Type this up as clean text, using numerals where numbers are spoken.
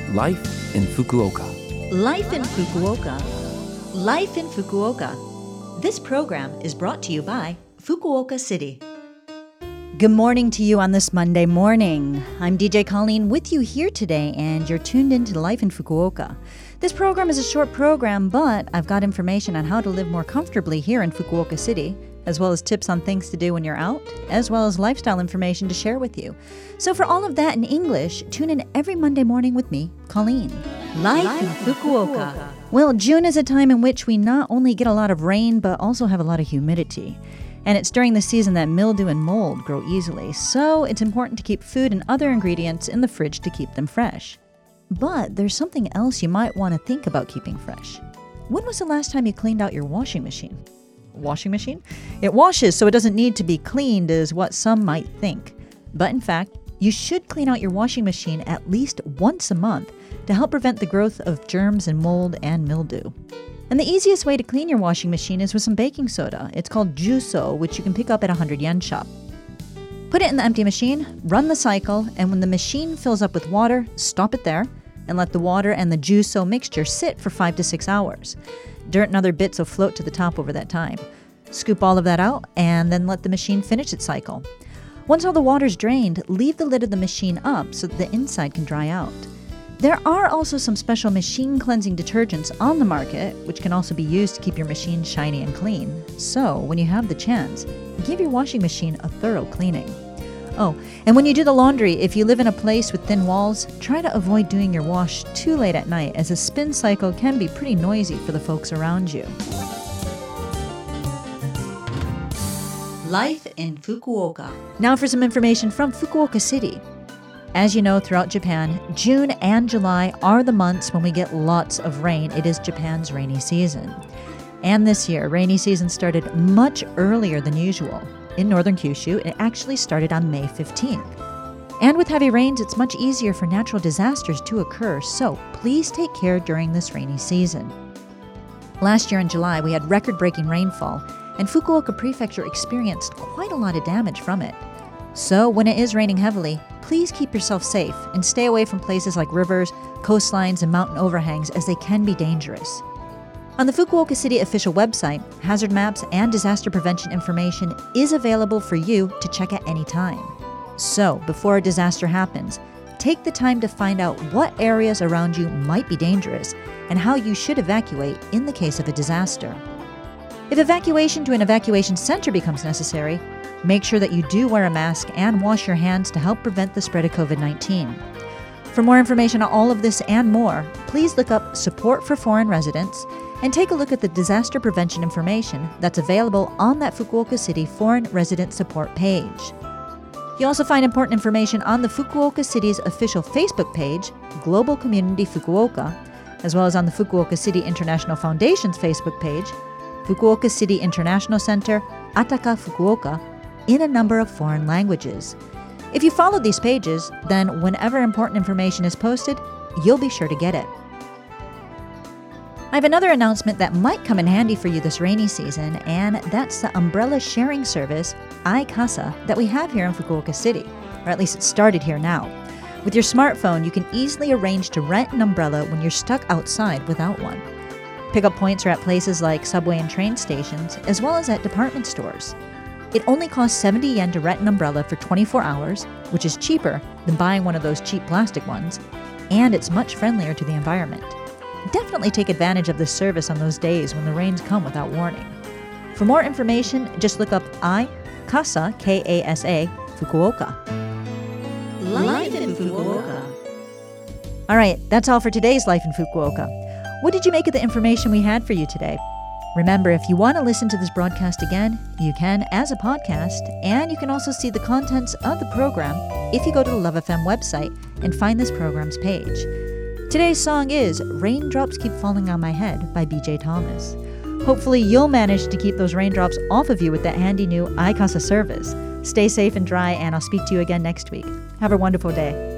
Life in Fukuoka. Life in Fukuoka. Life in Fukuoka. This program is brought to you by Fukuoka City. Good morning to you on this Monday morning. I'm DJ Colleen with you here today, and you're tuned into Life in Fukuoka. This program is a short program, but I've got information on how to live more comfortably here in Fukuoka City, as well as tips on things to do when you're out, as well as lifestyle information to share with you. So for all of that in English, tune in every Monday morning with me, Colleen. Life in Fukuoka. Well, June is a time in which we not only get a lot of rain, but also have a lot of humidity. And it's during the season that mildew and mold grow easily, so it's important to keep food and other ingredients in the fridge to keep them fresh. But there's something else you might want to think about keeping fresh. When was the last time you cleaned out your washing machine? Washing machine? It washes, so it doesn't need to be cleaned, is what some might think. But in fact, you should clean out your washing machine at least once a month to help prevent the growth of germs and mold and mildew. And the easiest way to clean your washing machine is with some baking soda. It's called Juso, which you can pick up at a 100-yen shop. Put it in the empty machine, run the cycle, and when the machine fills up with water, stop it there, and let the water and the Juso mixture sit for 5 to 6 hours. Dirt and other bits will float to the top over that time. Scoop all of that out, and then let the machine finish its cycle. Once all the water's drained, leave the lid of the machine up so that the inside can dry out. There are also some special machine cleansing detergents on the market, which can also be used to keep your machine shiny and clean. So, when you have the chance, give your washing machine a thorough cleaning. Oh, and when you do the laundry, if you live in a place with thin walls, try to avoid doing your wash too late at night, as a spin cycle can be pretty noisy for the folks around you. Life in Fukuoka. Now for some information from Fukuoka City. As you know, throughout Japan, June and July are the months when we get lots of rain. It is Japan's rainy season. And this year, rainy season started much earlier than usual. In northern Kyushu, it actually started on May 15th. And with heavy rains, it's much easier for natural disasters to occur, so please take care during this rainy season. Last year in July, we had record-breaking rainfall, and Fukuoka Prefecture experienced quite a lot of damage from it. So when it is raining heavily, please keep yourself safe and stay away from places like rivers, coastlines, and mountain overhangs, as they can be dangerous. On the Fukuoka City official website, hazard maps and disaster prevention information is available for you to check at any time. So, before a disaster happens, take the time to find out what areas around you might be dangerous and how you should evacuate in the case of a disaster. If evacuation to an evacuation center becomes necessary, make sure that you do wear a mask and wash your hands to help prevent the spread of COVID-19. For more information on all of this and more, please look up Support for Foreign Residents and take a look at the disaster prevention information that's available on that Fukuoka City Foreign Resident Support page. You'll also find important information on the Fukuoka City's official Facebook page, Global Community Fukuoka, as well as on the Fukuoka City International Foundation's Facebook page, Fukuoka City International Center, Ataka Fukuoka, in a number of foreign languages. If you follow these pages, then whenever important information is posted, you'll be sure to get it. I have another announcement that might come in handy for you this rainy season, and that's the umbrella sharing service, iCasa, that we have here in Fukuoka City, or at least it started here now. With your smartphone, you can easily arrange to rent an umbrella when you're stuck outside without one. Pickup points are at places like subway and train stations, as well as at department stores. It only costs 70 yen to rent an umbrella for 24 hours, which is cheaper than buying one of those cheap plastic ones, and it's much friendlier to the environment. Definitely take advantage of this service on those days when the rains come without warning. For more information, just look up iCasa, K-A-S-A, Fukuoka. Life in Fukuoka. All right, that's all for today's Life in Fukuoka. What did you make of the information we had for you today? Remember, if you want to listen to this broadcast again, you can as a podcast, and you can also see the contents of the program if you go to the Love FM website and find this program's page. Today's song is Raindrops Keep Falling on My Head by BJ Thomas. Hopefully you'll manage to keep those raindrops off of you with that handy new iCasa service. Stay safe and dry, and I'll speak to you again next week. Have a wonderful day.